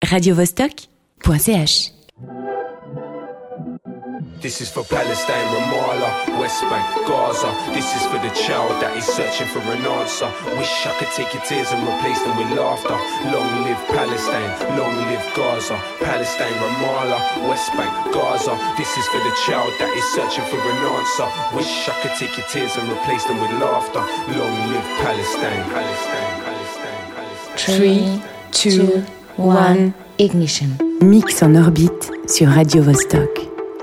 radiovostok.ch. This is for Palestine, Ramallah, West Bank, Gaza. This is for the child that is searching for an answer. Wish I could take your tears and replace them with laughter. Long live Palestine, long live Gaza. Palestine, Ramallah, West Bank, Gaza. This is for the child that is searching for an answer. Wish I could take your tears and replace them with laughter. Long live Palestine, Palestine, Palestine, Palestine. 3, 2, 1, ignition. Mix en orbite sur Radio Vostok.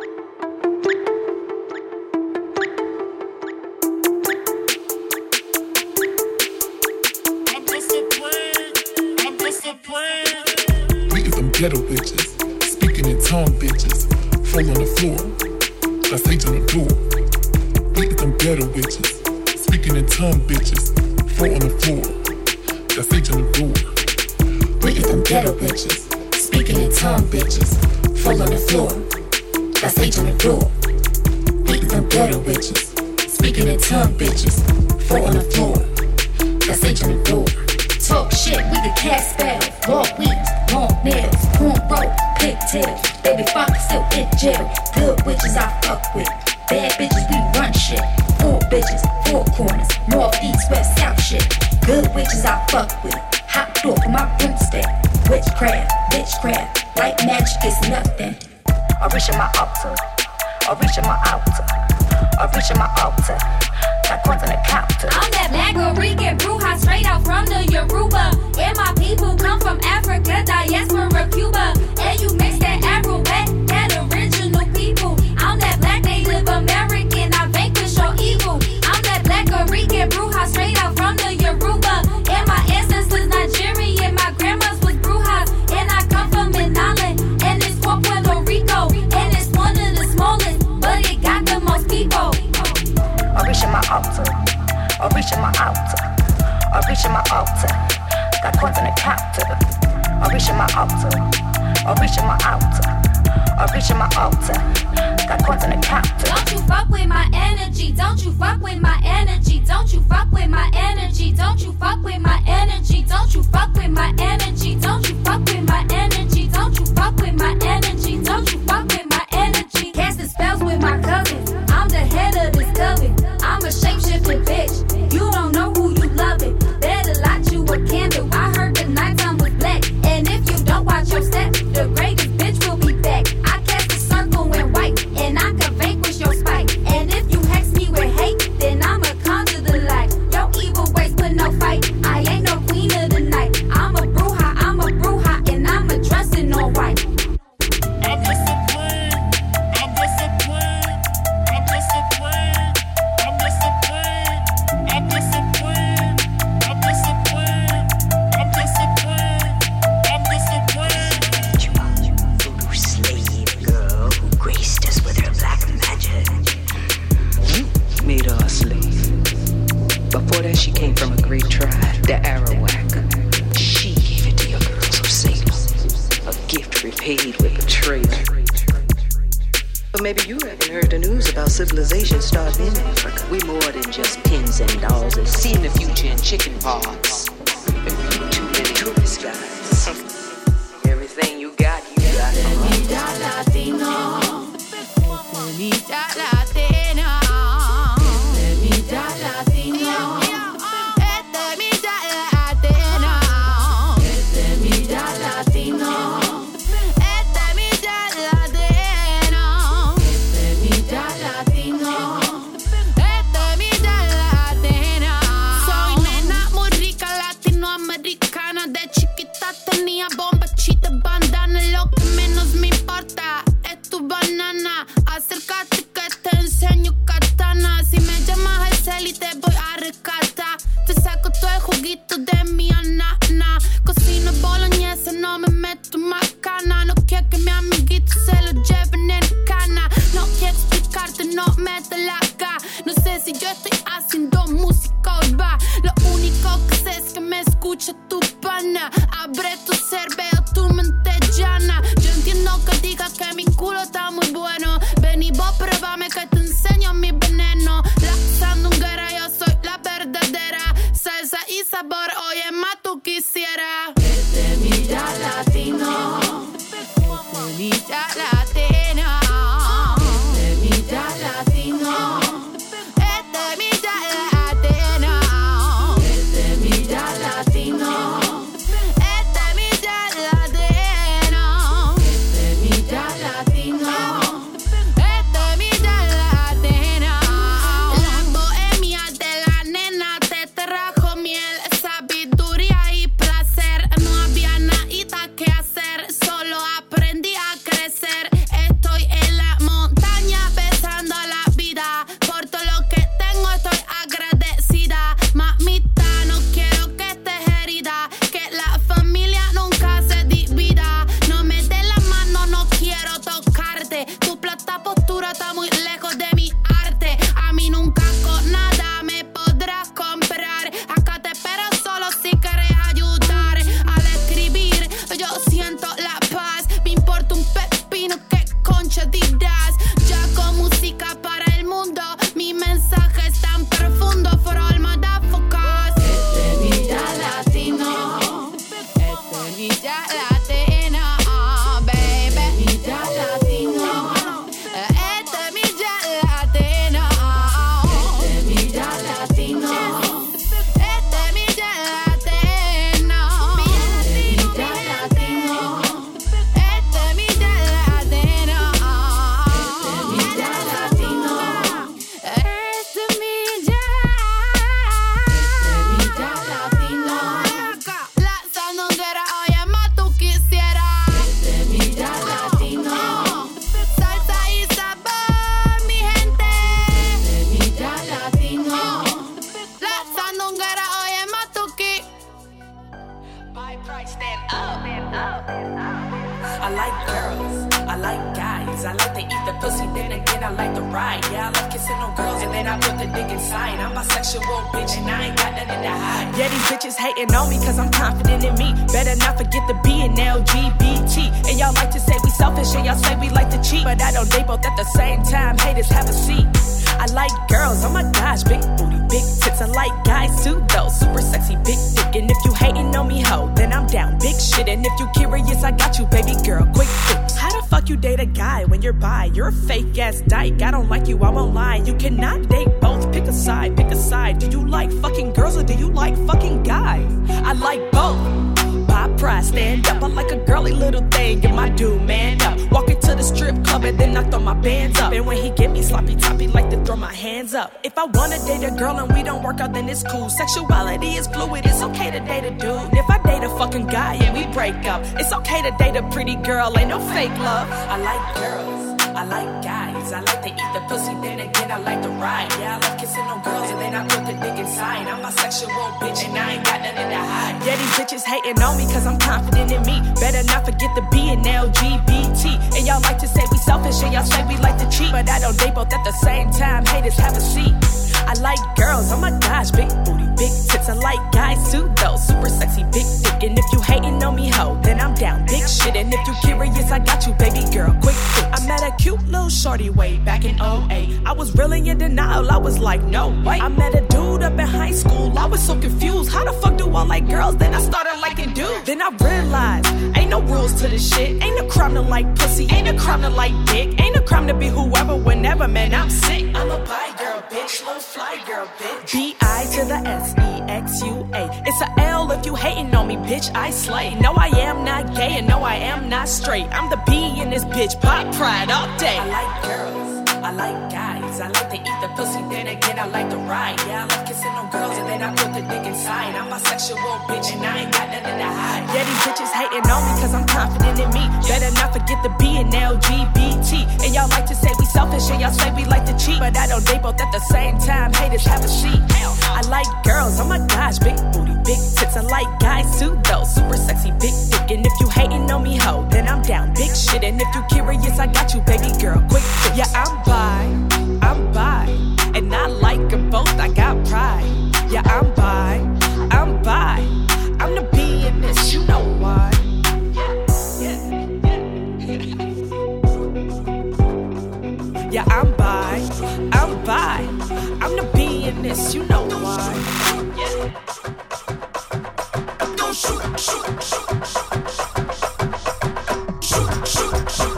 Ghetto bitches, speaking in tongue bitches, fall on the floor, that's H on the door. Beat them ghetto bitches, speaking in tongue bitches, fall on the floor, that's H on the door. Beat them ghetto bitches, speaking in tongue bitches, fall on the floor, that's H on the door. Beat them ghetto bitches, speaking in tongue bitches, fall on the floor, that's H on the door. Talk shit, we the cast spell. Walk weeds, long nails, cornrow, pigtails. Baby father still in jail. Good witches I fuck with. Bad bitches, we run shit. 4 bitches, 4 corners. North, east, west, south shit. Good witches I fuck with. Hot door for my broomstick. Witchcraft, bitchcraft. Like magic is nothing. I reach in my altar. I reach in my altar. I reach in my altar. Got coins on the counter. I'm that black Rican bruja straight out from the Yoruba. And my people come from Africa, diaspora, Cuba. And you mix that Afro-wet, that original people. I'm that black Native American, I vanquish your evil. I'm that black Rican bruja straight out from the Yoruba. And my ancestors Nigerian, my grandma's was brujas. And I come from Manala, and it's for Puerto Rico. And it's one of the smallest, but it got the most people. I reach in my altar. I reach in my altar. I reach in my altar. Got coins on the counter. I reach in my altar. I reach in my altar. I reach in my altar. Got coins on the counter. Don't you fuck with my energy. Don't you fuck with my energy. Don't you fuck with my energy. Don't you fuck with my energy. Don't you fuck with my energy. Don't you fuck with my energy. Don't you fuck with my energy. Don't you fuck with my energy. Casting spells with my cousins. I'm the head of this coven. I'm a shape-shifting bitch. You don't know who you loving. Better light you a candle. I heard the nighttime was black. And if you don't watch your step, the greatest bitch will be back. I cast a circle in white, and I can vanquish your spite. And if you hex me with hate, then I'ma conjure the light. Your evil ways put no fight. I ain't no queen of the night. I'm a bruja, and I'm a dressing all white. I'm disciplined, I'm disciplined, I'm disciplined, I'm disciplined, I'm disciplined, I'm disciplined, I'm disciplined, I'm disciplined. You voodoo slave girl who graced us with her black magic. You made her a slave. Before that, she came from a great tribe, the Arawak. She gave it to your girls of Salem. A gift repaid with betrayal. But maybe you haven't heard the news about civilization starting in Africa. We more than just pins and dolls and seeing the future in chicken pods. Too many tourist guys. Everything you got, you got it. Semilla Latino. Semilla Latina. Semilla Latino. Semilla Latino. Soy nena muy rica latinoamericana. De chiquita tenía bombachita, bandana. Lo que menos me importa es tu banana. Acércate que te enseño katana. Si me llamas el cel y te voy a rescatar. Te saco todo el juguito de mi anana. Cocino boloñesa, no me meto macana. No quiero que mi amiguito se lo lleven en cana. No quiero explicarte, no mete la cara. No sé si yo estoy haciendo música urbana. Lo único que sé es que me escucha tu pana. Abre tu cerebro, tu mente. Estemita latina. Estemita latino. Estemita latina. Estemita latino. Estemita latino. Estemita latino. Estemita latina. La bohemia de la nena te trajo miel, sabiduría y placer. No había nada que hacer, solo aprendí a crecer. Estoy en la montaña besando la vida. Por todo lo que tengo estoy agradecida. Mamita, no quiero que estés herida, que la familia nunca se divida. No me des la mano, no quiero tocarte. Tu plata postura está muy lejos de mi arte. A mí nunca con nada me podrás comprar. Acá te espero solo si quieres ayudar. Al escribir yo siento la paz. Me importa un pepino que concha dirás. Ya con música para el mundo, mi mensaje es tan profundo. For all motherfuckers. Estemita latino. Estemita latina, baby. Estemita latino. Estemita latina. Estemita latino. Estemita latino. Estemita latino. Estemita latino. Estemita latino. Estemita. Estemita latino. La sandunguera, oye, más tú quisieras. Estemita latino. Salsa y sabor, mi gente. Estemita latino. La sandunguera, oye, más tú My price stand up. I like girls, I like guys. I like to eat the pussy, then again I like to ride. Yeah, I like kissing on girls and then I put the dick inside. I'm bisexual, bitch, and I ain't got nothing to hide. Yeah, these bitches hating on me cause I'm confident in me. Better not forget the B and LGBT. And y'all like to say we selfish and y'all say we like to cheat, but I don't date both at the same time. Haters, have a seat. I like girls, oh my gosh, big booty, big tits. I like guys too, though, super sexy, big dick. And if you hating on me, ho, then I'm down, big shit. And if you curious, I got you, baby girl, quick fix. How the fuck you date a guy when you're bi? You're a fake ass dyke, I don't like you, I won't lie. You cannot date both, pick a side, pick a side. Do you like fucking girls or do you like fucking guys? I like both. Pop pride, stand up, I like a girly little thing, get my dude man up. Walk into the strip club and then I throw my bands up. And when he get me sloppy toppy, like to throw my hands up. If I wanna date a girl and we don't work out, then it's cool. Sexuality is fluid, it's okay to date a dude. And if I date a fucking guy and we break up, it's okay to date a pretty girl, ain't no fake love. I like girls, I like guys. I like to eat the pussy, then again I like to ride. Yeah, I like kissing on girls and then I put the dick inside. I'm bisexual, bitch, and I ain't got nothing to hide. Yeah, these bitches hating on me cause I'm confident in me. Better not forget the B and LGBT. And y'all like to say we selfish and y'all say we like to cheat, but I don't date both at the same time. Haters, have a seat. I like girls, oh my gosh, big booty, big tits. I like guys too, though, super sexy, big dick. And if you hating on me, ho, then I'm down, big shit. And if you curious, I got you, baby girl, quick fix. I met a cute little shorty way back in 08. I was really in denial, I was like, no way. I met a dude up in high school, I was so confused. How the fuck do I like girls? Then I started liking dudes. Then I realized, ain't no rules to this shit. Ain't no crime to like pussy, ain't no crime to like dick. Ain't no crime to be whoever, whenever, man, I'm sick. I'm a bi girl, bitch, little fly girl, bitch. B-I to the S-E-X-U-A. It's a L if you hating on me, bitch, I slay. No, I am not gay and no, I am not straight. I'm the B in this bitch, pop pride all day. I like girls, I like guys. I like to eat the pussy, then again I like to ride. Yeah, I like kissing on girls and then I put the dick inside. I'm bisexual, bitch, and I ain't got nothing to hide. Yeah, these bitches hating on me cause I'm confident in me. Better not forget the B and LGBT. And y'all like to say we selfish and y'all say we like to cheat, but I don't date both at the same time. Haters, have a seat. I like girls, oh my gosh, big booty, big tits. I like guys too, though, super sexy, big dick. And if you hating on me, ho, then I'm down, big shit. And if you curious, I got you, baby girl, quick fix. Yeah, I'm bi, and I like them both, I got pride. Yeah, I'm bi, I'm the B in this, you know why. Yeah, I'm bi, I'm the B in this, you know why. Don't shoot.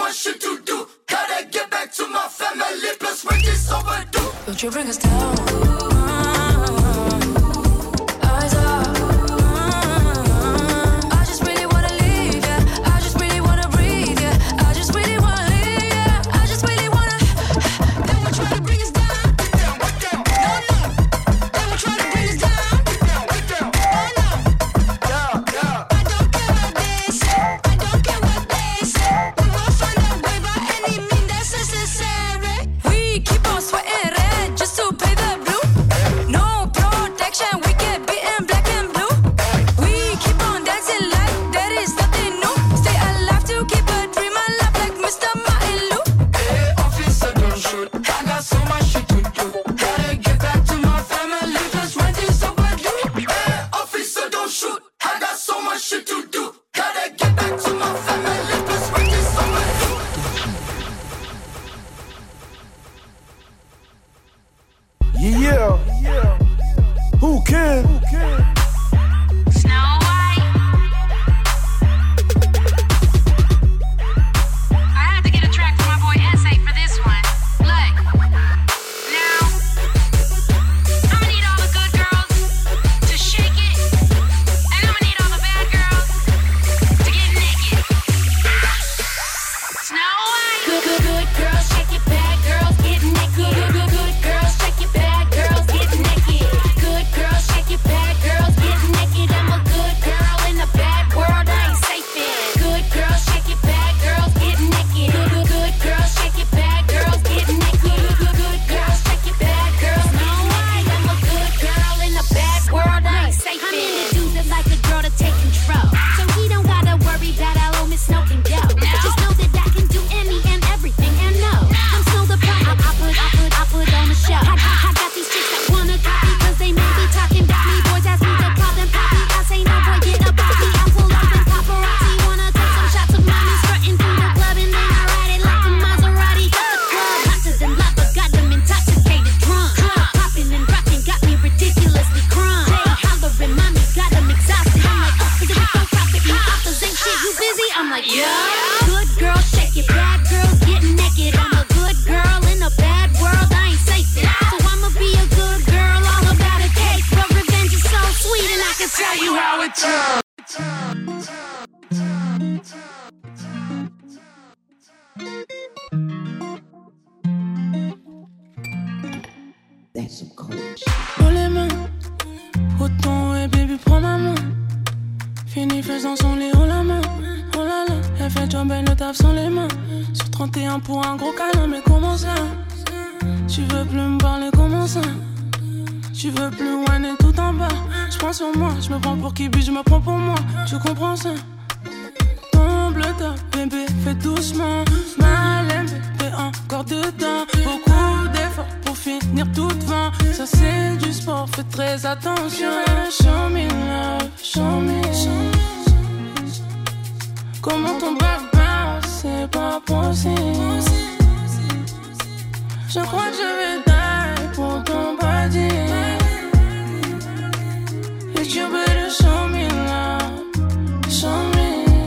much shit to do. Gotta get back to my family, plus rent is overdue. Don't you bring us down? Eyes up. I just really wanna leave, yeah. I just really wanna breathe, yeah. I just really wanna leave, yeah. I just really wanna. They will try to bring us down. No, no. They will try to bring us down. Oh no. I don't care what they say. I don't care what they say. We will find a way by any means that's necessary. We keep on sweating red just to pay the blue. No protection, we get beaten black and blue. We keep on dancing like there is nothing new. Stay alive to keep a dream alive like Mr. Martin Lou. Hey, officer, don't shoot. I got so much shit to do. Gotta get back to my family, plus rent is overdue. Hey, officer, don't shoot. I got so much shit to do. Gotta get back to my family, plus rent is overdue. Yeah. Who can? Snow White. I had to get a track for my boy Essay for this one. Look. Now, I'ma need all the good girls to shake it. And I'ma need all the bad girls to get naked. Snow White. Good girls, shake it. Bad girls, get naked. Good girls, shake it. Bad girls, get naked. Good girls, shake it. Bad girls, get naked. I'm a good girl in a bad world I ain't safe in. Good girls, shake it. Bad girls, get naked. Good girls, shake it. Bad girls, get naked. Good girls, shake it. Bad girls, no way. I'm a good girl in a bad world I ain't safe in. I'm into dudes that like a girl to take control, so he don't gotta worry that I'll owe Miss Snow and Joe. Just know that I can do any and everything, and no, I'm Snow the Pie. I put on a show. I got these chicks that wanna copy, cause they may be talking about me. Boys ask me to call them poppy. I say no, boy, get up off me. I pull up and paparazzi wanna take some shots of mommy strutting through the club, and then I ride it like a Maserati. Got the club hotter than lava, got them intoxicated drunk. Popping and rocking got me ridiculously crunk. They hollering, mommy got them exhausted. I'm like, oh, figure it, don't profit me off the same shit. You busy? I'm like, yeah. Good girl, shake it. Bad girls get naked. I'm a good girl in a bad world. I ain't safe in. So I'ma be a good girl, all about a cake. But revenge is so sweet, and I can tell you how it tastes. Prends les mains, autant et baby prends ma main. Fini faisant son lit, oh la main, oh là là. Elle fait job, elle le taf sans les mains. Sur 31 pour un gros câlin, mais comment ça? Tu veux plus me parler, comment ça? Tu veux plus whiner tout en bas. Je prends sur moi, je me prends pour qui, puis je me prends pour moi. Tu comprends ça? Tombe le top, bébé, fais doucement. Mal aimé, t'es encore dedans. Beaucoup d'efforts pour finir tout devant. Ça c'est du sport, fais très attention. Show me love, show me. Comment ton back bounce, c'est pas possible. Je crois que je vais die pour ton body. If you better show me love, show me.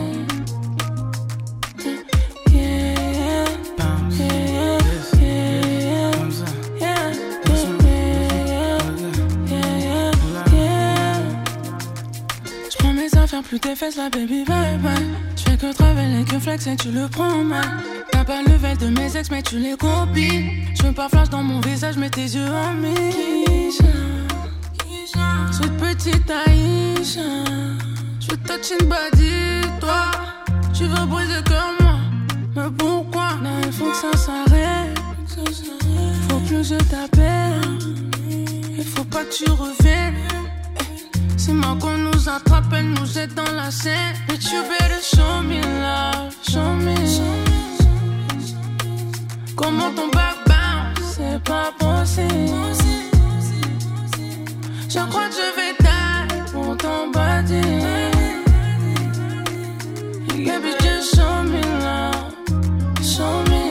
Faire plus tes fesses, la baby, bye bye. Je fais que travailler, que flex et tu le prends mal. T'as pas le level de mes ex, mais tu les copies. Je veux pas flash dans mon visage, mais tes yeux en Misha. Sweet petite Aïcha. Je veux touch une body, toi. Tu veux briser comme moi. Mais pourquoi? Non, il faut que ça s'arrête. Faut plus que je t'appelle. Il faut pas que tu reviennes. C'est moi qu'on nous attrape, elle nous jette dans la scène. But you better show me love, show me. Comment ton back bounce, c'est pas possible. Je crois que je vais die pour ton body. Baby, just show me love, show me.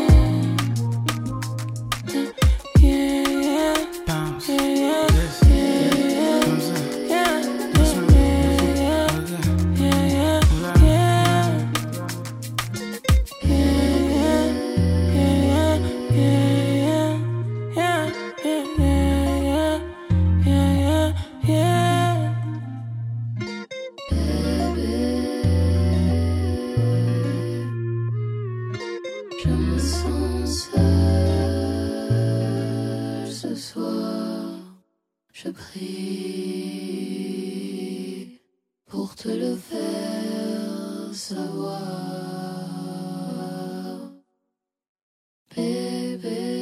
Je me sens seule ce soir. Je prie pour te le faire savoir, bébé.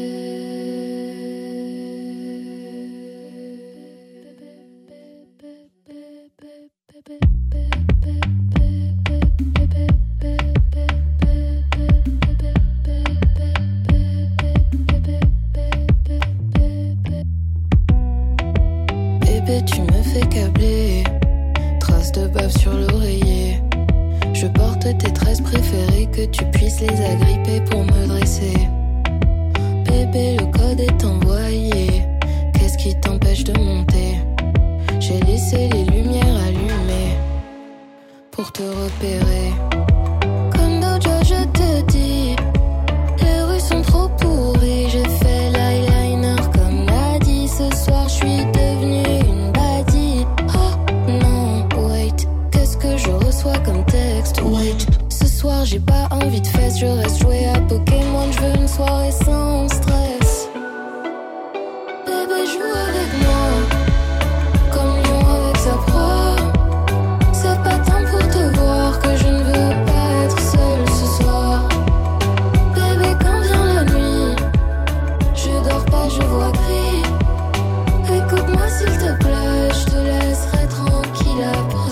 Bébé, tu me fais câbler, traces de bave sur l'oreiller. Je porte tes tresses préférées, que tu puisses les agripper pour me dresser. Bébé, le code est envoyé, qu'est-ce qui t'empêche de monter? J'ai laissé les lumières allumées pour te repérer. Comme Dojo, je te dis, les rues sont trop pourries. J'ai fait l'eyeliner comme Nadie. Ce soir, je suis devenue une baddie. Oh non, wait, qu'est-ce que je reçois comme texte? Wait, ce soir, j'ai pas envie de fesses. Je reste jouer à Pokémon. Je veux une soirée sans stress. Bébé, joue avec moi comme lion avec sa proie. C'est pas temps pour te voir que je ne veux pas être seule ce soir. Bébé, quand vient la nuit, je dors pas, je vois gris. Écoute-moi s'il te plaît, je te laisserai tranquille après.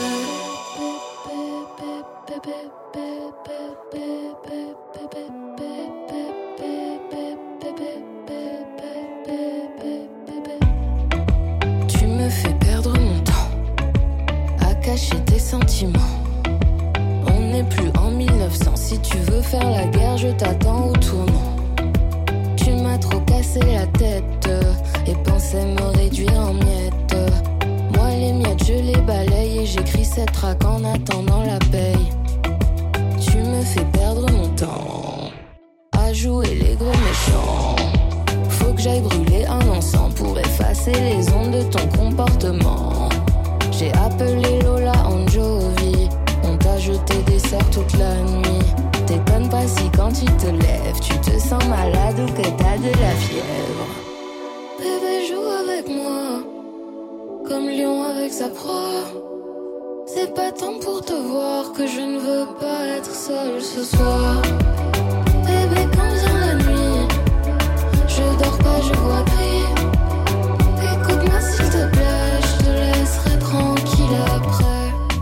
Tu me fais perdre mon temps à cacher tes sentiments. On n'est plus en 1900. Si tu veux faire la guerre, je t'attends au tournant. Tu m'as trop cassé la tête et pensais me réduire en miettes. Moi les miettes je les balaye et j'écris cette track en attendant la paye. Tu me fais perdre mon temps à jouer les gros méchants. Faut que j'aille brûler un encens pour effacer les ondes de ton comportement. J'ai appelé Lola Anjovi, on t'a jeté des sorts toute la nuit. T'étonnes pas si quand tu te lèves, tu te sens malade ou que t'as de la fièvre. Bébé, joue avec moi comme lion avec sa proie. C'est pas temps pour te voir que je ne veux pas être seule ce soir. Bébé, quand vient la nuit, je dors pas, je vois gris. Écoute-moi s'il te plaît, je te laisserai tranquille après.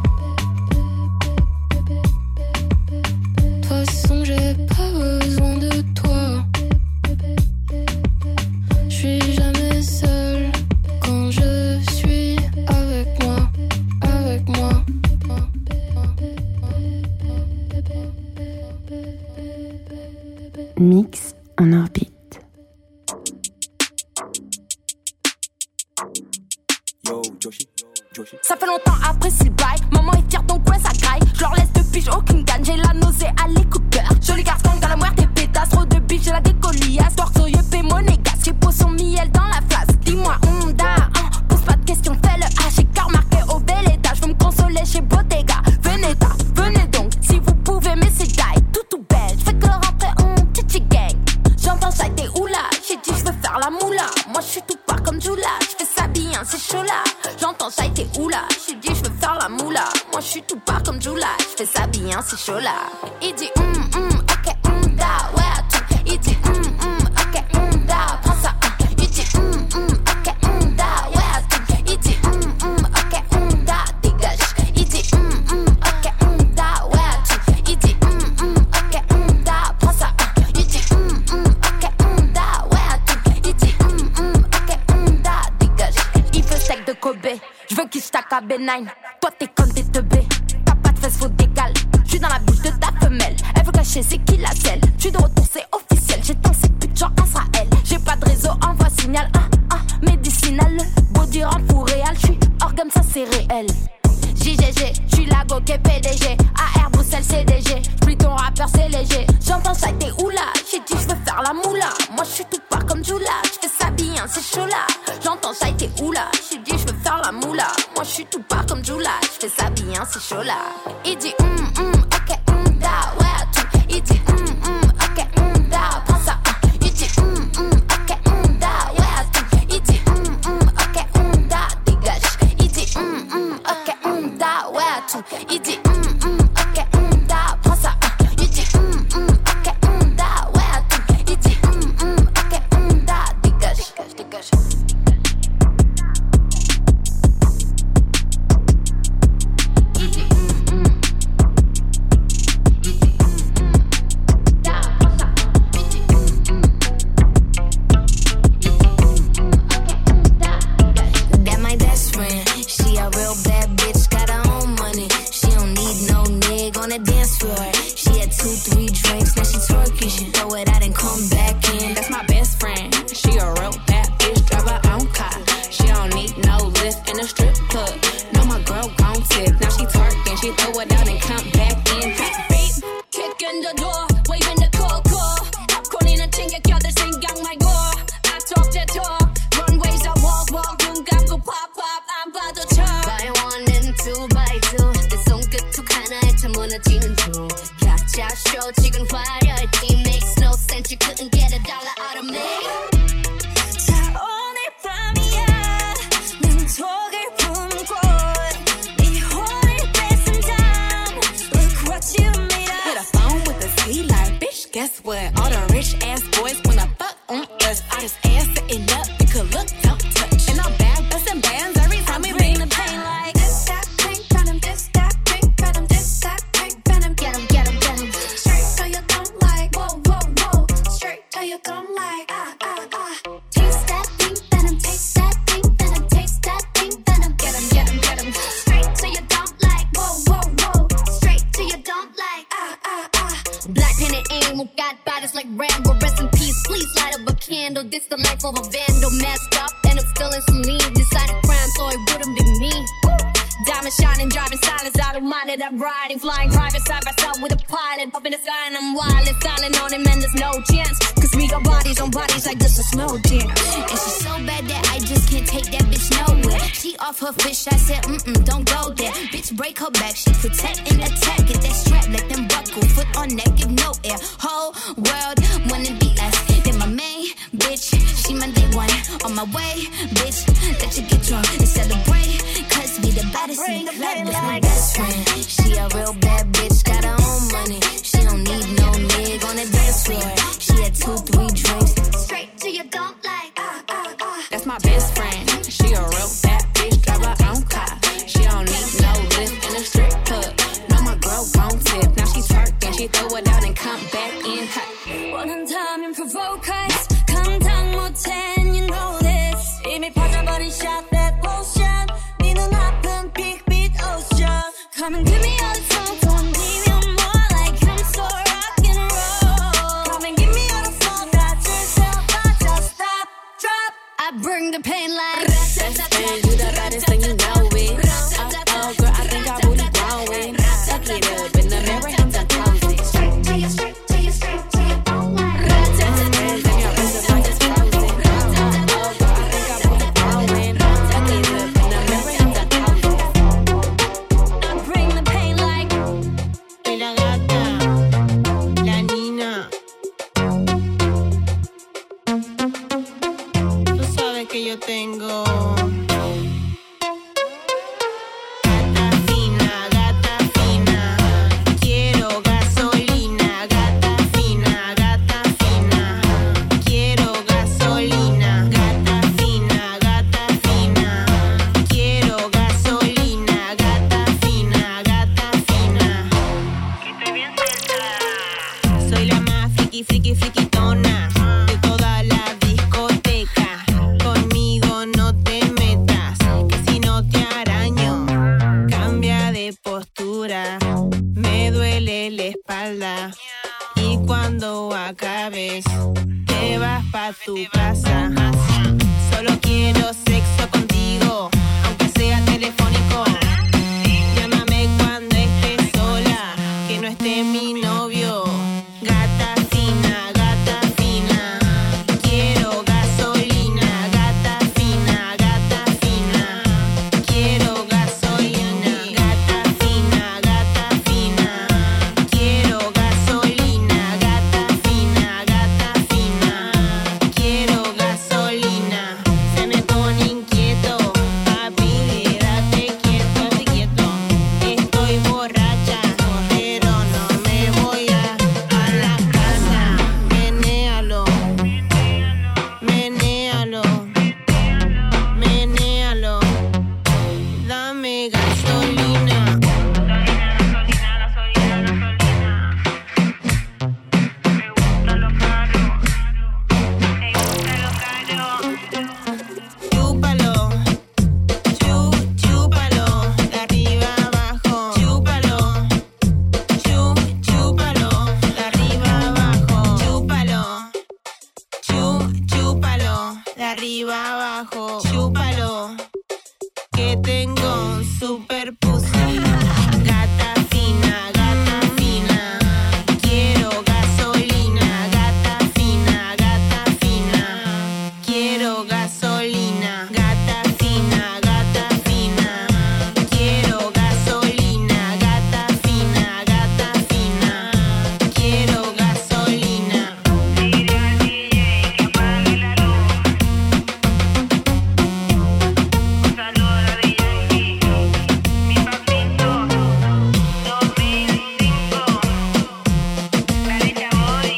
De toute façon, j'ai pas besoin de toi. Je suis jamais seule quand je suis avec moi, avec moi. Mix en orbite. Ça fait longtemps après s'il baille. Maman est fière donc ouais ça graille. Je leur laisse de pige aucune gagne. J'ai la nausée à l'écouteur. Joli garçon dans la moire des pétasses. Trop de biche j'ai la décoliasse. Torsoyeux fait monégasque. J'ai posé son miel dans la flasque. Dis-moi Honda pose pas de questions fais le H. J'ai cœur marqué au bel étage. Je veux me consoler chez Bottega. Venez donc si vous pouvez mais c'est die. Tout belle. Je fais que rentrer en petit gang. J'entends ça t'es oula. J'ai dit je veux faire la moula. Moi je suis tout pas comme Jula. Je fais ça bien c'est chaud là. J'entends ça t'es oula. J'ai dit je veux faire la moula. Moi je suis tout pas comme Jula. Je fais ça bien c'est chaud là. Il dit ok da ouais à tout. Il dit ok da prends ça. Il dit ok da ouais à tout. Il dit ok da dégage. Il dit ok da ouais à tout. Il dit ok da prends ça. Il dit ok da ouais à tout. Il dit ok da dégage. Il veut steak de Kobe. Je veux qu'il stack à B9. Toi t'es comme des teubés. T'as pas de fesses, faut d'égal. J'suis dans la bouche de ta femelle. Elle veut cacher c'est qui la selle. J'suis de retour c'est officiel. J'ai tant ces putes genre Israël. J'ai pas de réseau, envoie signal médicinal. Body rend pour réel. J'suis organe ça c'est réel. JGG, j'suis la go qui PDG. AR Bruxelles CDG. J'plie ton rappeur c'est léger. J'entends ça t'es oula. J'ai dit j'veux faire la moula. Moi j'suis tout pas comme Jula. J'fais ça bien c'est chaud là. J'entends ça t'es oula. J'ai dit j'veux faire la moula. Moi j'suis tout pas comme Jula. J'fais ça bien c'est chaud là. Il dit ok da ouais à tout. Il dit ok she twerking, she throw it out and come back in. That's my best friend, she a real bad bitch, drive her own car. She don't need no lift in a strip club. No, my girl gon' tip, now she twerking, she throw it out and come back in. Beep, kick in the door, waving the coco. 팝콘이는 챙겨 껴들 생각 말고. I talk that talk, runways I walk, 눈 감고 pop, 안 봐도 쳐. By one and two by two, 내 손끝 툭 하나에 차 무너지는 중. 각자 쇼 지금 화려했지, makes no sense, you couldn't get a dollar out of me. 자 오늘 밤이야, 난 톡을 품고 네 혼을 뺏은 다음, look what you made us. With a phone with a C like, bitch, guess what? All the rich ass boys wanna fuck on us. All this ass sitting up, we could look, don't touch. And I'm bad, bustin' bands every time we bring the pain like this, that, pink venom, this, that, pink venom, this, that, pink venom. Get 'em, get 'em, get 'em. Straight till you don't like, whoa, whoa, whoa. Straight till you don't like, Taste that pink venom, taste that pink venom, taste that pink venom. Get 'em, get 'em, get 'em. Straight till you don't like, whoa, whoa, whoa. Straight till you don't like, Black pen and aim, who got bodies like Rambo. Rest in peace, please light up a candle. This the life of a vandal, messed up, and I'm still in some need. Decided crime, so it wouldn't be me. diamond shining, driving silence, I don't mind it. I'm riding, flying private side by side with a pilot. Up in the sky and I'm wild and silent on him, and there's no chance. Cause we got bodies on bodies like this is no jam. And she's so bad that I just can't take that bitch nowhere. She off her fish, I said, don't go there. Bitch, break her back, she protect and attack. Get that strap, let them buckle, foot on neck, give no air. Whole world wanna be us. Then my main bitch, she my day one. On my way, bitch, let you get drunk and celebrate. Cause we the baddest in the club, that's my best friend. She a real bad bitch, got her own money. She don't need no nigga on the dance floor. She had 2-3 drinks. Straight till you don't like, That's my best friend. She a real bad bitch, drive her own car. She don't need no lift in a strip club. No, my girl gon' tip. Now she twerking, she throw it out and come back in hot. 원한다면 provoke us. 감당 못해, and you know this. 이미 퍼져버린 shot that lotion. 네 눈앞은 big beat ocean. Come and give me all the time, don't leave you more like I'm so rock and roll. Come and give me all the soul that yourself, not just stop, drop. I bring the pain like Best friend, you the baddest and you know it. Oh, girl, I think our booty growing. Suck it up in the mirror, hands on closing. Straight till you, straight till you, straight till you don't like. Yo tengo gata fina, quiero gasolina, gata fina, quiero gasolina, gata fina, quiero gasolina, gata fina. Estoy bien cerca. Soy la más friquitona de toda la discoteca. Conmigo no te metas, que si no te araño. Cambia de postura, me duele la espalda. Y cuando acabes, te vas pa' tu casa. Solo quiero sexo contigo, aunque sea telefónico. Llámame cuando estés sola, que no esté mi novio. Gata fina, quiero gasolina. Gata fina, quiero gasolina. Gata fina, quiero gasolina. Gata fina, quiero gasolina. Se me pone inquieto, papi, quédate quieto. arriba abajo. Chúpalo, que tengo un super pussy. Gata fina, quiero gasolina. Gata fina, quiero gasolina. Gata fina, quiero gasolina. Gata fina, quiero gasolina. Dile al DJ que apague la luz. Un saludo a DJ, mi papito, 2005. Dale Chaboy.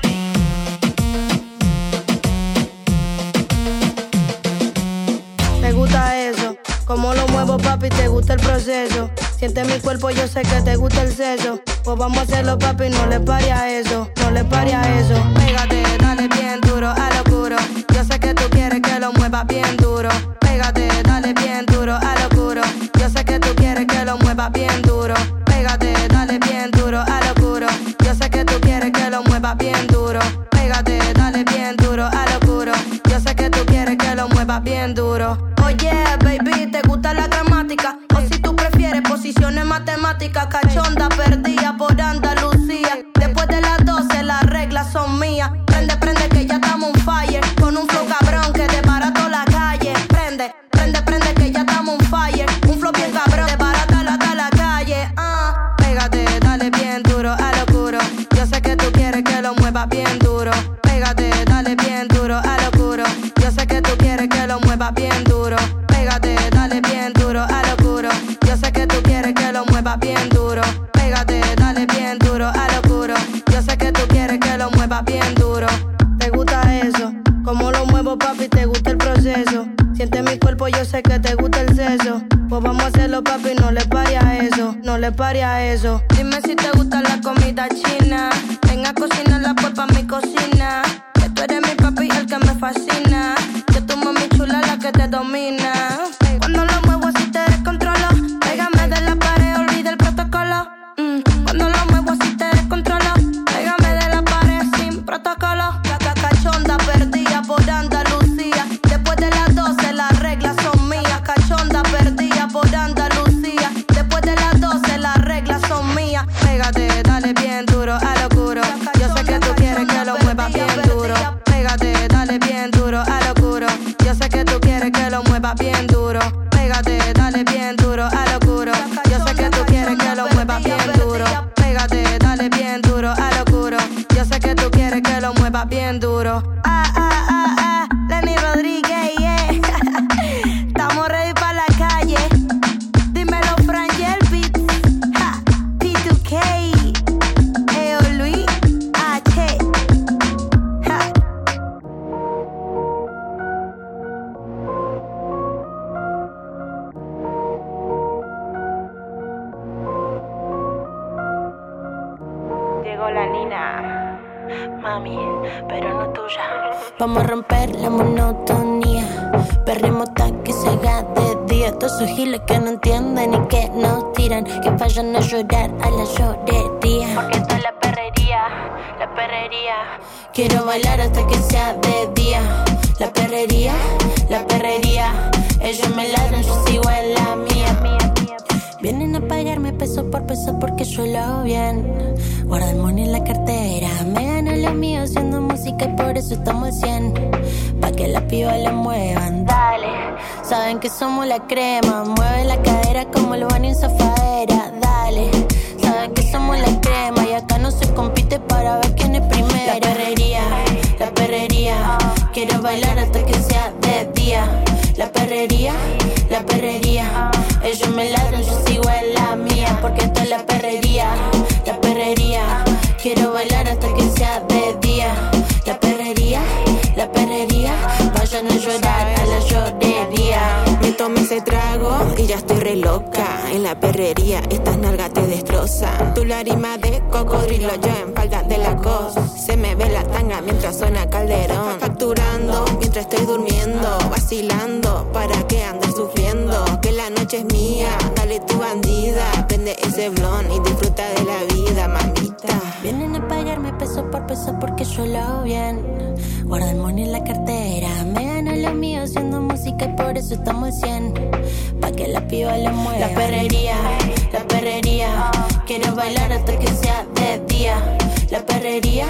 Me gusta eso, como lo muevo papi, te gusta el proceso. Siente mi cuerpo, yo sé que te gusta el sexo. Pues vamos a hacerlo papi, no le pare a eso, no le pare a eso. Pégate, dale bien duro, a lo oscuro. Yo sé que tú quieres que lo muevas bien duro. Pégate, dale bien duro, a lo oscuro. Yo sé que tú quieres que lo muevas bien duro. Pégate, dale bien duro, a lo oscuro. Yo sé que tú quieres que lo muevas bien duro. Pégate, dale bien duro, a lo oscuro. Yo sé que tú quieres que lo muevas bien duro. Oye, baby, ¿te gusta la gramática? O si tú prefieres posiciones matemáticas. Cachonda perdida por Andalucía. Después de las 12 las reglas son mías. Prende, prende que ya estamos on fire. Con un flow cabrón que desbarato la calle. Prende, prende, prende que ya estamos on fire. Un flow bien cabrón, desbarata la calle. Pégate, dale bien duro, a lo oscuro. Yo sé que tú quieres que lo muevas bien duro. Pégate, dale bien duro, a lo oscuro. Yo sé que tú quieres que lo muevas bien duro. Pégate, dale bien duro, a lo oscuro. Yo sé que tú quieres que lo muevas bien duro. Pégate, dale bien duro, a lo oscuro. Yo sé que tú quieres que lo muevas bien duro. ¿Te gusta eso? Como lo muevo papi, te gusta el proceso. Siente mi cuerpo, yo sé que te gusta el sexo. Pues vamos a hacerlo papi, no le pare a eso, no le pare a eso. Dime si te gusta la comida china. Ven a cocinarla pues pa' mi cocina. Que tú eres mi papi, el que me fascina. Que tu mami chula la que te domina. Cuando lo muevo así te descontrolo. Pégame de la pared, olvida el protocolo. Cuando lo muevo así te descontrolo. Pégame de la pared sin protocolo. Cachonda perdida por Andalucía. Después de las 12 las reglas son mías. Cachonda perdida por Andalucía. Después de las 12 las reglas son mías. Pégate, dale bien duro, a lo oscuro. Yo sé que tú quieres que lo muevas bien duro. Pégate, dale bien duro, a lo oscuro. Yo sé que tú quieres que lo muevas bien duro. Pégate, dale bien duro, a lo oscuro. Yo sé que tú quieres que lo muevas bien duro. Pégate, dale bien duro, a lo oscuro. Yo sé que tú quieres que lo muevas bien duro. Lenny Rodríguez, yeah. Estamos ready para la calle. Dímelo, Frangel Beats, P2K, Eo Luis, H. Llegó la Nina, mami, pero no tuya. Vamos a romper la monotonía. Perremos hasta que se haga de día. Todos esos giles que no entienden y que nos tiran, que vayan a llorar a la llorería. Porque esto es la perrería, la perrería. Quiero bailar hasta que sea de día. La perrería, la perrería. Ellos me ladran, yo sigo en la mía. Vienen a pagarme peso por peso porque suelo bien. Guarda el money en la cartera. Me gano lo mío haciendo música y por eso estamos al 100. Pa' que las pibas la muevan, dale. Saben que somos la crema. Mueve la cadera como el Bunny en zafaera, dale. Saben que somos la crema y acá no se compite para ver quién es primero. La perrería, la perrería. Quiero bailar hasta que sea de día. La perrería, la perrería. Ellos me ladran, yo sigo en la mía. Porque esto es la perrería, la perrería. Quiero bailar hasta que sea de día. La perrería, la perrería. Vayan a llorar a la llorería. Me tomé ese trago y ya estoy re loca. En la perrería estas nalgas te destrozan. Tu lágrima de cocodrilo, yo en falda de la cosa. Se me ve la tanga mientras suena Calderón. Facturando mientras estoy durmiendo. Vacilando para que andes sufriendo. Que la noche es mía, dale tu bandida. Prende ese blon y disfruta de la vida, mamita. Vienen a pagarme peso por peso peso porque yo lo bien. Guarda el money en la cartera, me gana lo mío haciendo música y por eso estamos al 100. Pa' que la piba le mueva. La perrería, quiero bailar hasta que sea de día. La perrería,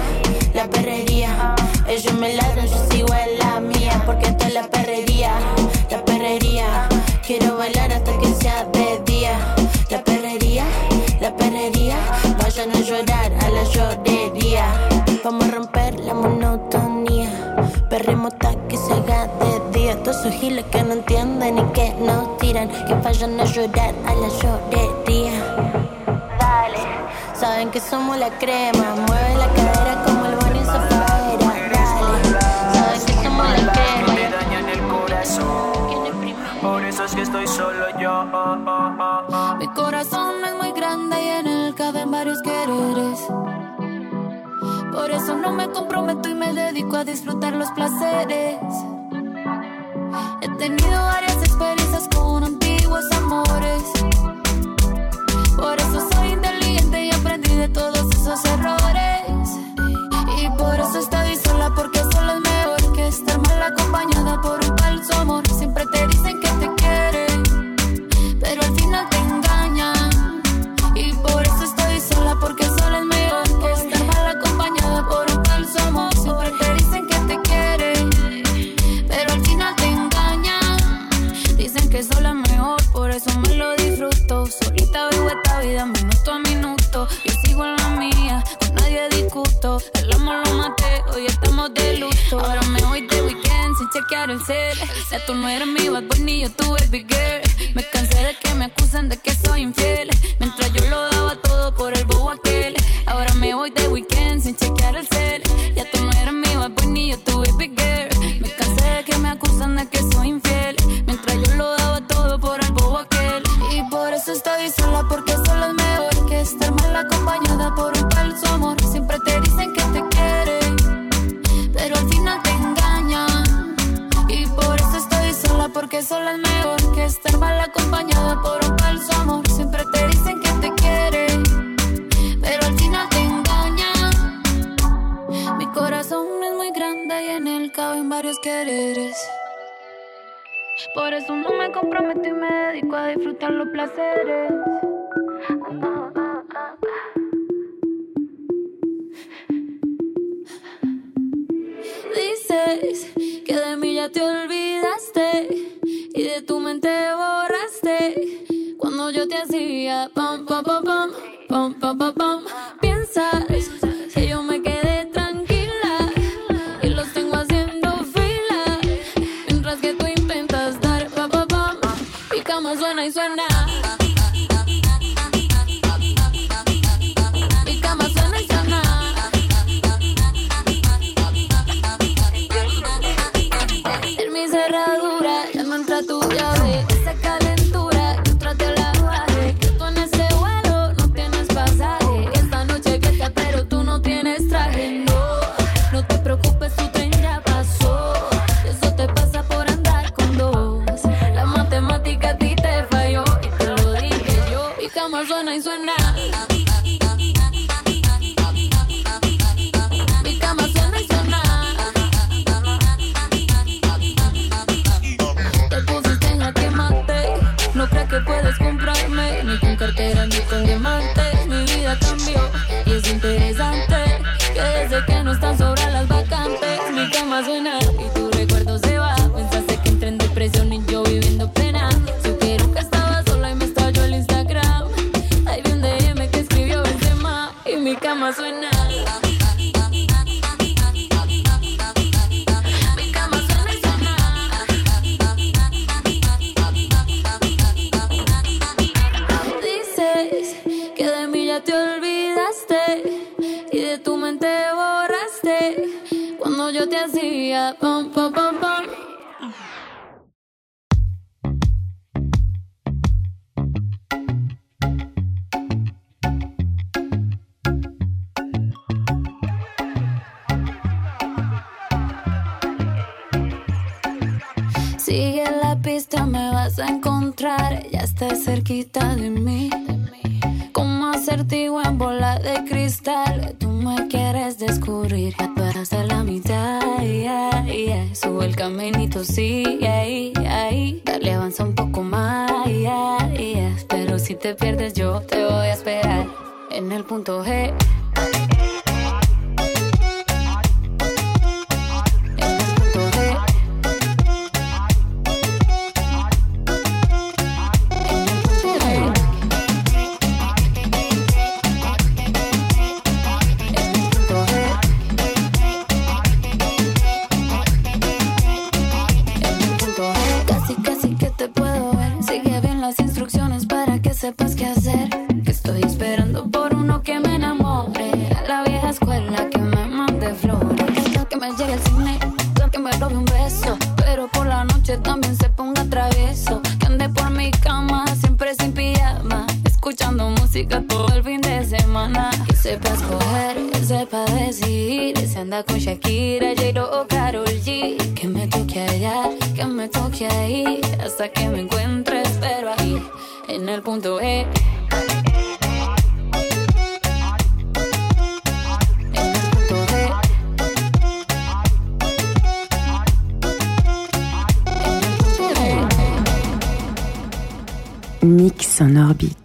ellos me ladran, yo sigo en la mía. Porque esta es la perrería, quiero bailar hasta que sea de día. La perrería, vayan a llorar a la llorería. Vamos a romper la monotonía, perremos hasta que se haga de día. Todos esos giles que no entienden y que nos tiran, que vayan a llorar a la llorería. Dale, saben que somos la crema, mueve la cadera como el Bonnie Zafaera. Dale, saben que somos la crema. Me dañan el corazón, por eso es que estoy solo yo. Mi corazón es muy grande y en él caben varios quereres. Por eso no me comprometo y me dedico a disfrutar los placeres. He tenido varias experiencias con antiguos amores. Por eso soy inteligente y aprendí de todos esos errores. Y por eso estoy sola, porque sola es mejor que estar mal acompañada por un falso amor. Siempre te dicen que te quieren, pero al final te engañan. Y por eso estoy sola, porque sola es mejor que estar mal acompañada por un falso amor. Siempre te dicen que te quieren, pero al final te engañan. Dicen que sola es mejor, por eso me lo disfruto. Solita vivo esta vida minuto a minuto. Yo sigo en la mía, con nadie discuto. El amor lo maté, hoy estamos de luto. Ahora me voy de weekend sin chequear el cel. Ya tú no eres mi bad boy ni yo tu baby girl. Me cansé de que me acusen de que soy infiel, mientras yo lo daba todo por el bobo aquel. Ahora me voy de weekend sin chequear el cel. Ya tú no eres mi bad boy ni yo tu baby girl. Me cansé de que me acusan de que soy infiel, mientras yo lo daba todo por el bobo aquel. Y por eso estoy sola, porque sola es mejor que estar mal acompañada por un falso amor. Siempre te dicen que te quieren, pero al final te engañan. Y por eso estoy sola, porque sola es mejor que estar mal acompañada por un falso amor. Siempre te dicen que te quieren, pero al final te engañan. Mi corazón es muy grande y en él caben varios quereres. Por eso no me comprometo y me dedico a disfrutar los placeres. Dices que de mí ya te olvidaste y de tu mente borraste cuando yo te hacía pam pam pam pam pam pam pam pam. Piensas que yo me quedé tranquila y los tengo haciendo fila, mientras que tú intentas dar pam pam pam. Mi cama suena y suena. Mi cama suena y suena. En mi cerradura ya no entra tu llave. Esa calentura yo traté la bajé. Que tú en ese vuelo no tienes pasaje. Esta noche fiesta pero tú no tienes traje. No, no te preocupes, tu tren ya pasó. Eso te pasa por andar con dos. La matemática a ti te falló y te lo dije yo. Mi cama suena y suena. Mi cama suena y suena. Te pusiste en la que maté. No crees que puedes comprarme ni con cartera ni con diamantes. Mi vida cambió y es interesante que desde que no están sobran las vacantes. Mi cama suena y tu recuerdo se va. Pensaste que entré en depresión y yo viviendo pena. Supieron que estaba sola y me estalló el Instagram. Ahí vi un DM que escribió Benzema y mi cama suena. Mi cama suena y suena. Dices que de mí ya te olvidaste y de tu mente borraste cuando yo te hacía pam pam pam pam. Sigue la pista, me vas a encontrar. Ya estás cerquita de mí. Como acertijo en bola de cristal. Tú me quieres quieres descubrir, ya tú hasta la mitad, yeah, yeah. Sube el caminito, sí, ahí. Dale, avanza un poco más, yeah, yeah. Pero si te pierdes yo te voy a esperar en el punto G. Sepas qué hacer, que estoy esperando por uno que me enamore. A la vieja escuela que me mande flores, que me llegue al cine, que me robe un beso, pero por la noche también se ponga travieso. Que ande por mi cama siempre sin pijama, escuchando música todo el fin de semana. Que sepa escoger, que sepa decidir, se anda con Shakira, J-Lo o Karol G. Que me toque allá, que me toque ahí, hasta que me encuentre, espero ahí en el punto E. Mix en orbite.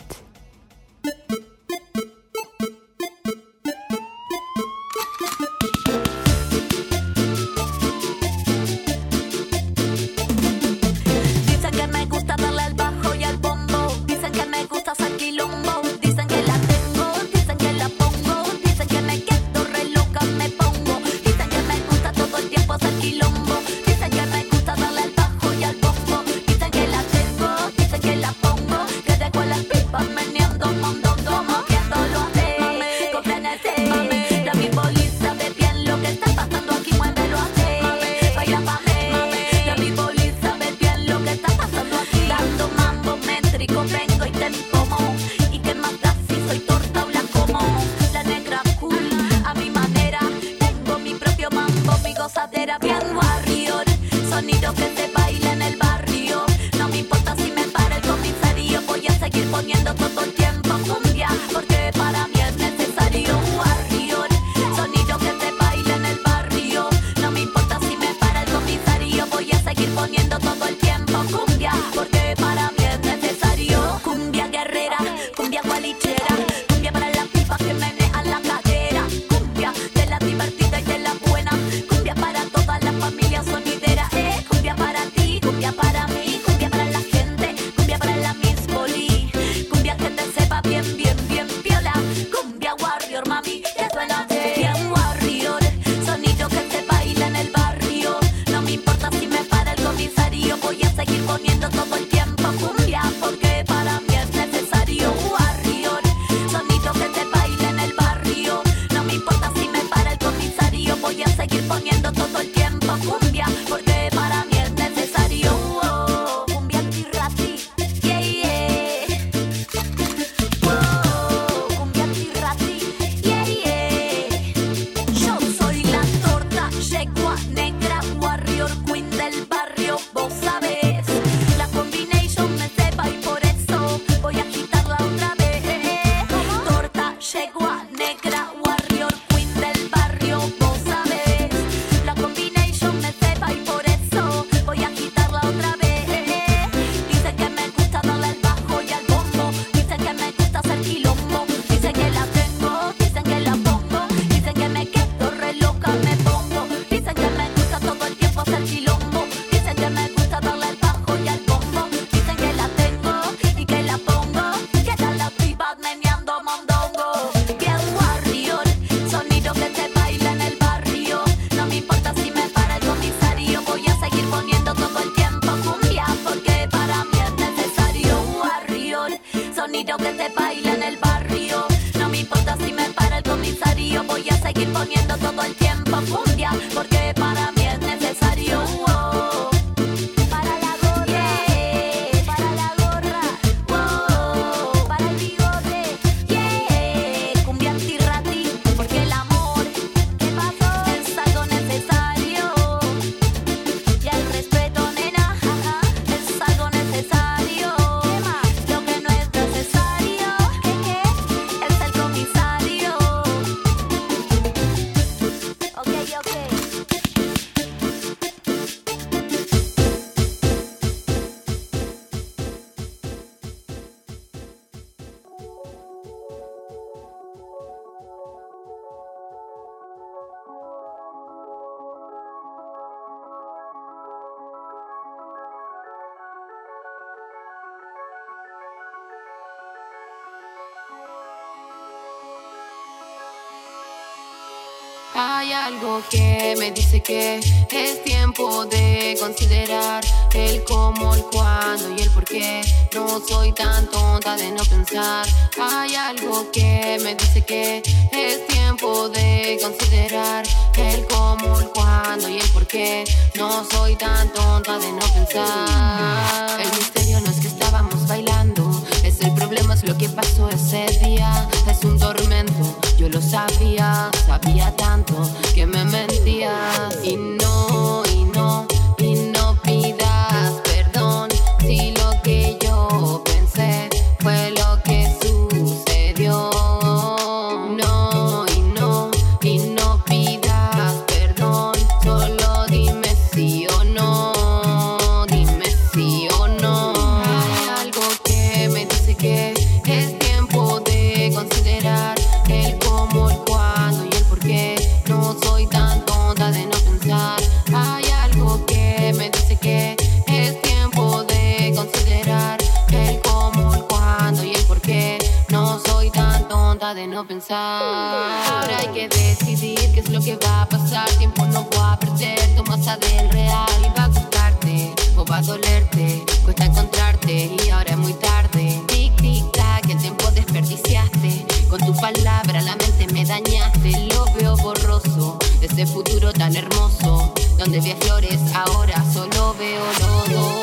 Hay algo que me dice que es tiempo de considerar el cómo, el cuándo y el por qué. No soy tan tonta de no pensar. Hay algo que me dice que es tiempo de considerar el cómo, el cuándo y el por qué. No soy tan tonta de no pensar. El misterio no es que estábamos bailando, es el problema, es lo que pasó ese día. Es un tormento, yo lo sabía, sabía tanto que me mentías. Y no, y no, y no pidas perdón si lo que yo pensé fue lo que sucedió. No, y no, y no pidas perdón, solo dime sí o no, dime sí o no. Hay algo que me dice que es tiempo de considerar el cómo, el cuándo y el por qué. No soy tan tonta de no pensar. Hay algo que me dice que es tiempo de considerar el cómo, el cuándo y el por qué. No soy tan tonta de no pensar. Ahora hay que decidir qué es lo que va a pasar. Tiempo no voy a perder, toma del real. Va a gustarte o va a dolerte, cuesta encontrarte y ahora es muy tarde. Tic, tic, tac, el tiempo desperdiciaste. Con tu palabra la mente me dañaste. Lo veo borroso, ese futuro tan hermoso. Donde vi flores, ahora solo veo lodo.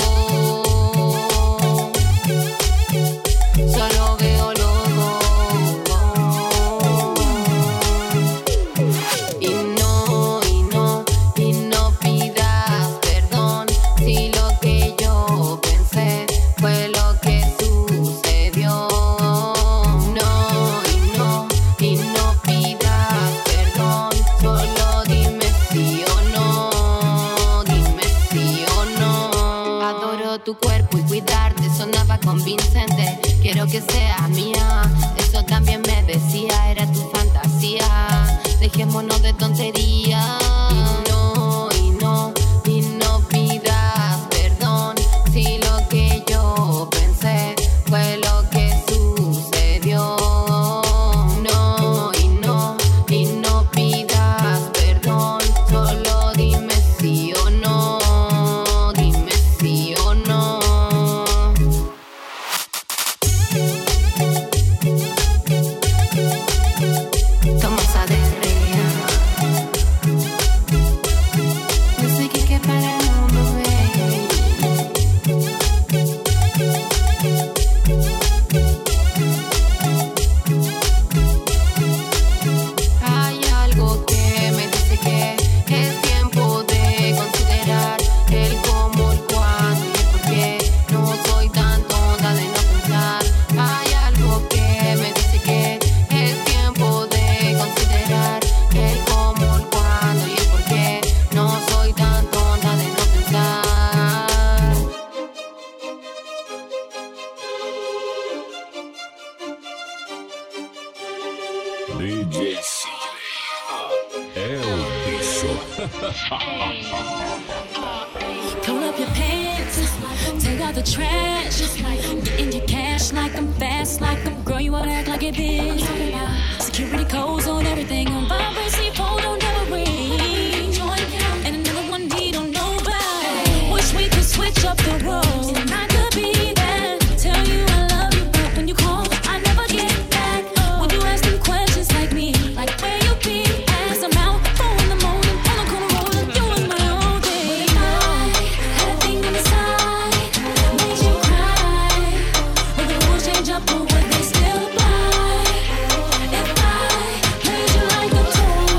Solo veo lodo. Y no, y no, y no pidas perdón si lo que yo pensé fue lo que sucedió. No, y no, y no pidas perdón, solo dime sí o no, dime sí o no. Adoro tu cuerpo y cuidarte sonaba convincente. Quiero que seas mía, eso también me decía, era tu fantasía. Dejémonos de tonterías. Y no, y no, y no pidas perdón si lo que yo pensé fue lo que sucedió. No, y no, y no pidas perdón, solo dime sí o no, dime sí o no. Somos aderrea. No sé qué para el mundo, baby. Hay algo que me dice que es tiempo de considerar el cómo, el cuándo y el por qué. No soy tan tonta de no pensar. Hay algo que me dice que es tiempo de considerar el cómo, el cuándo y el por qué. No soy tan tonta de no pensar. DJ El Bicho. Pull up your pants, take out the trash, get in your cash like I'm fast, like I'm girl, you wanna act like it is. Security codes on everything, on vibrancy, phone don't never ring. And another one we don't know about. Wish we could switch up the roles, and I could be that. Tell you I love you, but when you call, I never get back. Would you ask them questions like me, like where you be at? 'Cause I'm out 4 in the morning, on the corner rolling, doing my own thing. But if I had a thing inside, made you cry, would the rules change up or would they still apply? If I played you like a toy,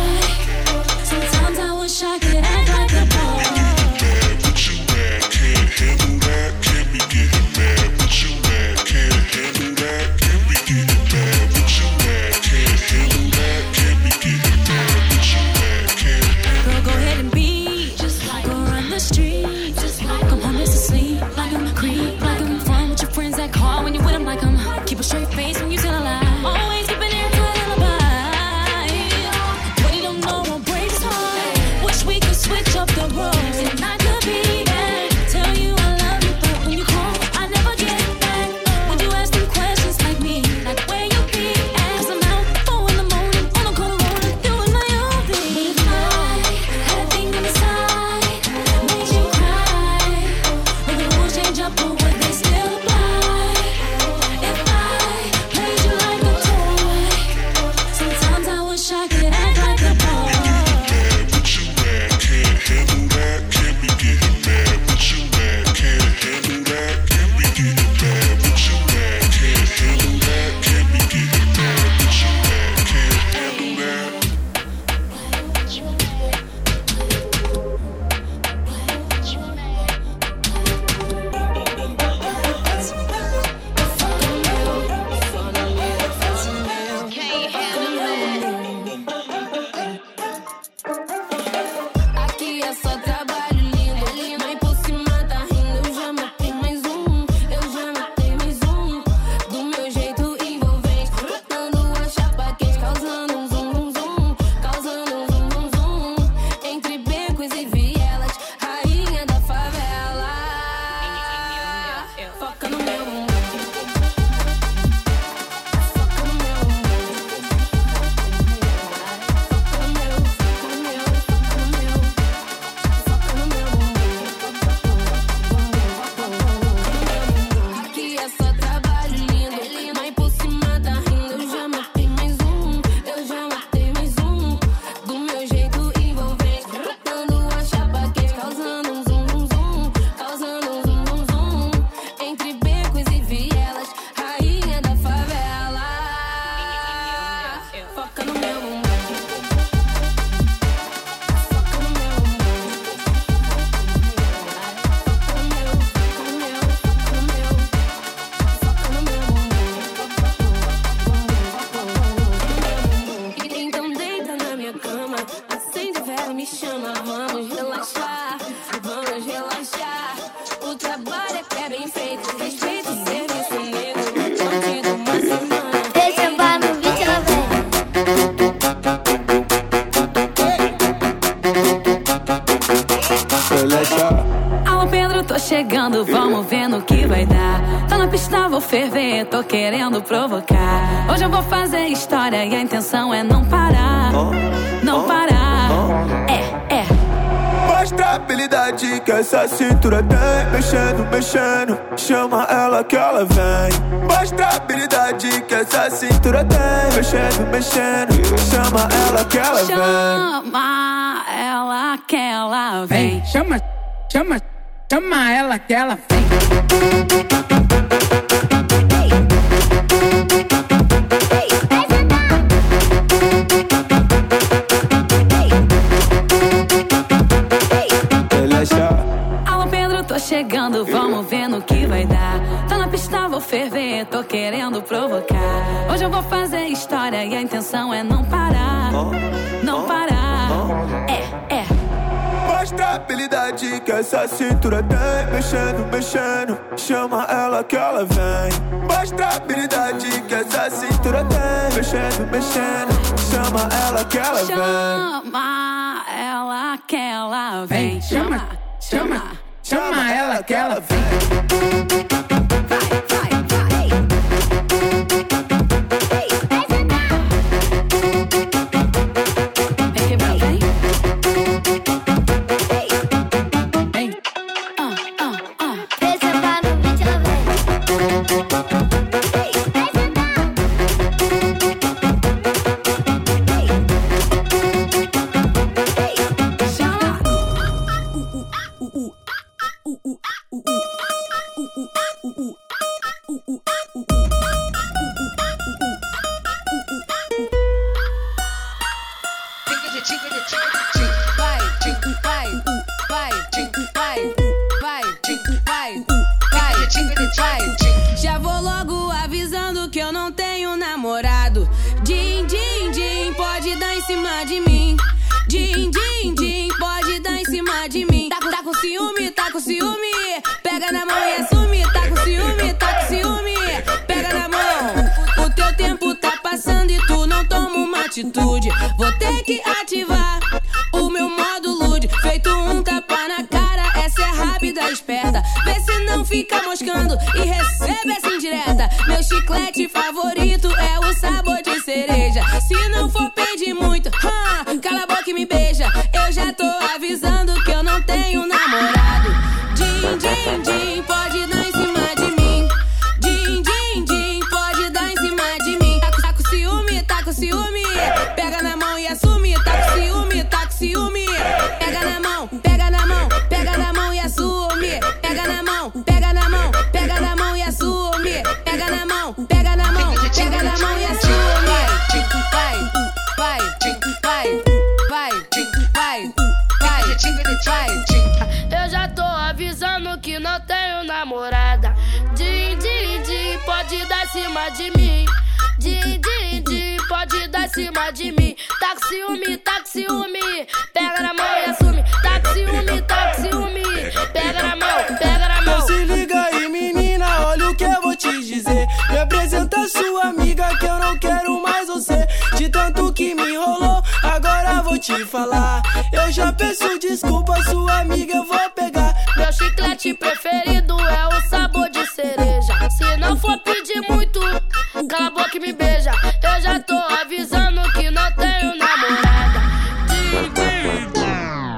mas vamos relaxar, vamos relaxar. O trabalho é que é bem feito, respeito o serviço negro. Contigo uma semana. Deixa vai no vídeo, Alô Pedro, tô chegando, vamos ver no que vai dar. Tá na pista, vou ferver, tô querendo provocar. Hoje eu vou fazer história e a intenção é não parar. Não parar, Mostra a habilidade que essa cintura tem. Mexendo, mexendo, chama ela que ela vem. Mostra a habilidade que essa cintura tem. Mexendo, mexendo, chama ela que ela vem. Chama ela que ela vem. Chama ela que ela vem. Alô Pedro, tô chegando, vamos ver no que vai dar. Tá na pista, vou ferver, tô querendo provocar. Hoje eu vou fazer história e a intenção é não parar. Não parar, Mostra a habilidade que essa cintura tem. Mexendo, mexendo, chama ela que ela vem. Mostra a habilidade que essa cintura tem. Mexendo, mexendo, chama ela que ela vem. Chama ela que ela vem. Chama ela que ela vem. Já vou logo avisando que eu não tenho namorado. Din, din, din, pode dar em cima de mim. Din, din, din, pode dar em cima de mim. Tá com ciúme, tá com ciúme. Pega na mão e assume. Tá com ciúme, tá com ciúme. Pega na mão. O teu tempo tá passando e tu não toma uma atitude. Vou ter que ativar o meu modo lude. Feito um tapa na cara, essa é rápida, esperta. Vê se não fica moscando e recebe essa indireta. Meu chiclete favorito é o sabor de cereja. Se não for pedir muito, cala a boca e me beija. Eu já tô avisando que eu não tenho namorado. Din, din, din, pode dar em cima de mim. Din, din, din, pode dar em cima de mim. Tá com ciúme, tá com ciúme. Pega na mão e assume. Tá com ciúme, tá com ciúme. Pega na mão, pega na mão, pega na mão e assume. Pega na mão, pega na mão, pega na mão e assume. Pega na mão, pega na mão, pega na mão e assume. Vai, vai, vai, vai, vai, vai. Eu já tô avisando que não tenho namorada. Din, din, din, pode dar em cima de mim. Din, din, din, pode dar em cima de mim. Tá com ciúme, tá com ciúme. Pega na mão e assume. Tá com ciúme, tá com ciúme. Pega na mão, pega na mão. Então se liga aí, menina, olha o que eu vou te dizer. Me apresenta sua amiga que eu não quero mais você. De tanto que me enrolou, agora vou te falar. Eu já peço desculpa, sua amiga eu vou pegar. Meu chiclete preferido é o sabor de cereja. Se não for pedir muito, cala a boca e me beija. Eu já tô avisando que não tenho namorada. Din, din, din.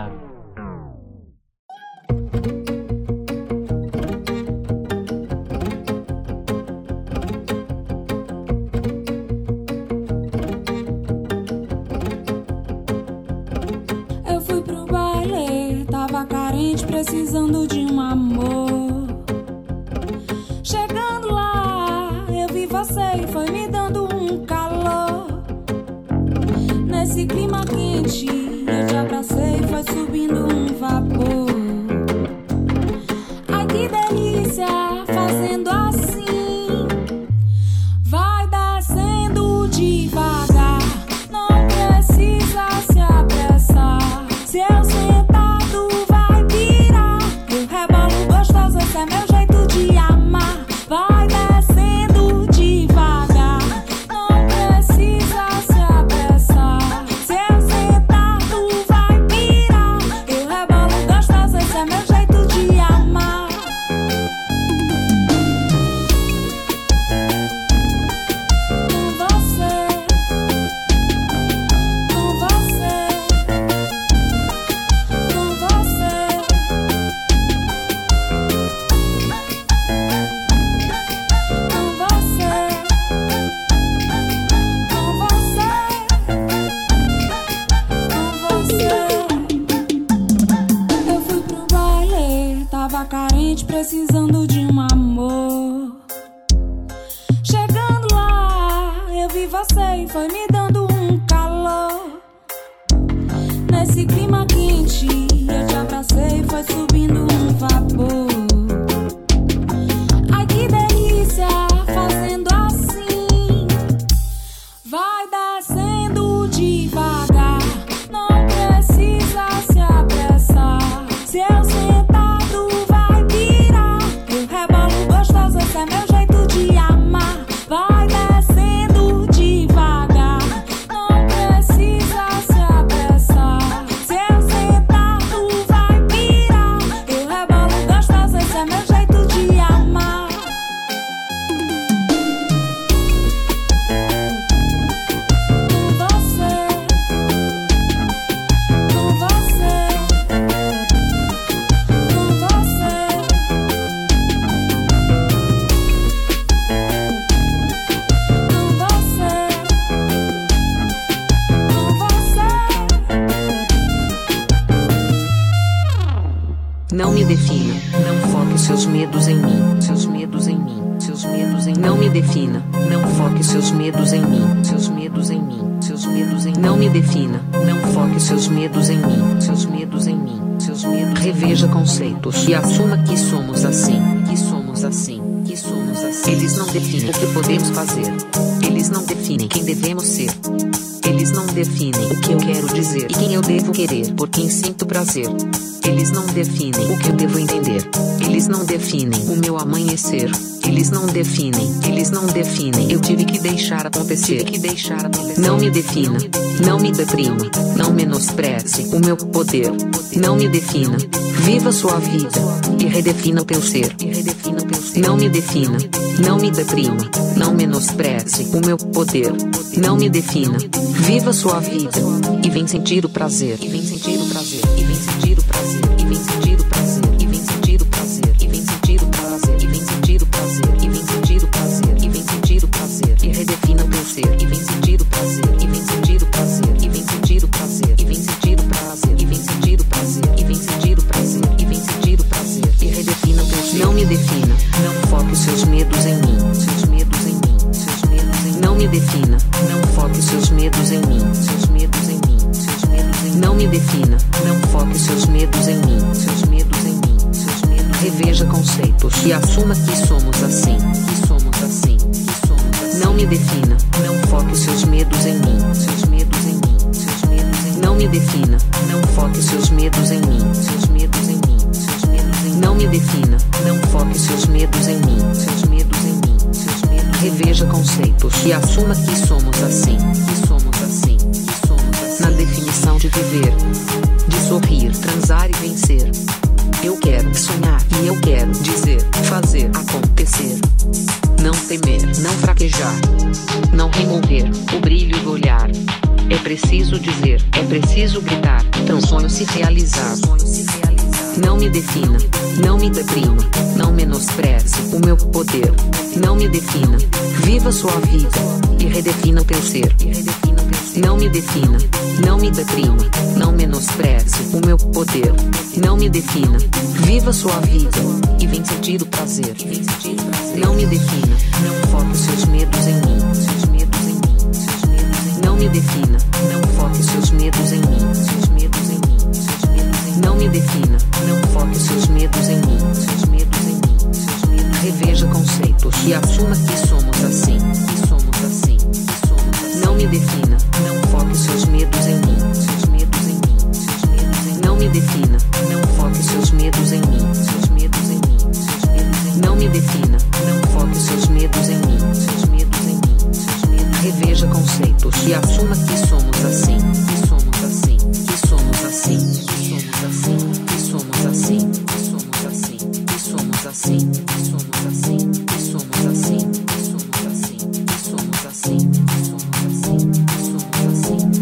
Eu fui pro baile, tava carente, precisando de um amor. Chegando lá, eu vi você e foi me dando um calor. Nesse clima quente, eu te abracei e foi subindo um vapor. Ai que delícia, fazendo assim. Vai descendo devagar, não precisa se apressar. Se eu carente, precisando de um amor. Chegando lá, eu vi você e foi me dando um calor. Nesse clima quente, eu te abracei e foi subindo um vapor. Ai que delícia, fazendo assim, vai descendo devagar, não precisa se apressar. Se eu sentado vai pirar, eu rebolo gostoso, esse é meu jeito de amar. Vai descendo devagar, não precisa se apressar. Se eu sentado vai pirar, eu rebolo gostoso, esse é meu jeito de amar. Com você, com você, com você, com você, com você. Não me defina, não foque seus medos em mim, seus medos em mim, seus medos em mim. Não me defina, não foque seus medos em mim, seus medos em mim, seus medos em mim. Não me defina, não foque seus medos em mim, seus medos em mim, seus medos. Reveja conceitos e assuma que somos assim, que somos assim, que somos assim. Eles não definem o que podemos fazer, eles não definem quem devemos ser. Eles não definem o que eu quero dizer e quem eu devo querer, por quem sinto prazer. Eles não definem o que eu devo entender. Eles não definem o meu amanhecer. Eles não definem, eles não definem. Eu tive que deixar acontecer, Não me defina, não me deprima, não menospreze o meu poder. Não me defina, viva sua vida e redefina o teu ser. Não me defina, não me deprima, não menospreze o meu poder. Não me defina, viva sua vida e vem sentir o prazer. E vem sentir o prazer, e vem sentir o prazer, e vem sentir o prazer, e vem sentir o prazer, e vem sentir o prazer, e vem sentir o prazer, e vem sentir o prazer, e vem sentir o prazer, e redefina o teu ser. E vem sentir o prazer, e vem sentir o prazer, e vem sentir o prazer, e vem sentir o prazer, e vem sentir o prazer, e vem sentir o prazer, e vem sentir o prazer, e redefina o teu ser. Não me defina, não foque seus medos em mim, seus medos em mim, seus medos em mim. Não me defina, não foque seus medos em mim, seus medos em mim, seus medos em mim. Não me defina, não foque seus medos em mim, seus medos em mim, seus medos. Reveja conceitos e assuma que somos assim, que somos assim, que somos assim. Não me defina, não foque seus medos em mim, seus medos em mim, seus medos em mim. Não me defina, não foque seus medos em mim, seus medos em mim, seus medos em mim. Não me defina, não foque seus medos em mim, seus medos em mim, seus medos. Reveja conceitos e assuma que somos assim, que somos assim, que somos assim. Na definição de viver, de sorrir, transar e vencer. Eu quero sonhar e eu quero dizer, fazer acontecer. Não temer, não fraquejar, não remover o brilho do olhar. É preciso dizer, é preciso gritar, para um sonho se realizar. Não me defina, não me deprima, não menospreze o meu poder. Não me defina, viva sua vida e redefina o teu ser. Não me defina, não me deprima, não menospreze o meu poder. Não me defina, viva sua vida e vem sentir o prazer. Não me defina, não foque seus medos em mim, seus medos em mim, seus medos em mim. Não me defina, não foque seus medos em mim, seus medos em mim, seus medos em mim. Não me defina, não foque seus medos em mim, seus medos em mim, seus medos. Reveja conceitos e assuma que somos assim, que somos assim, que somos assim. Não me defina, não foque seus medos em mim, seus medos em mim, seus medos em mim. Não me defina, não foque seus medos em mim, seus medos em mim, seus medos em mim. Não me defina, não foque seus medos em mim, seus medos em mim, seus medos. Reveja conceitos e assuma que somos assim, que somos assim, que somos assim, que somos assim, que somos assim, que somos assim, que somos assim, que somos assim, que somos assim, que somos assim, que somos assim, que somos assim, que somos assim.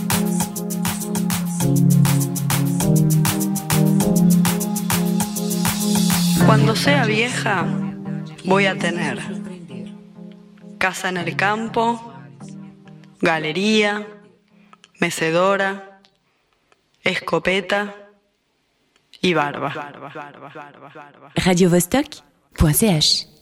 Cuando sea vieja, voy a tener casa en el campo, galería, mecedora, escopeta y barba. radiovostok.ch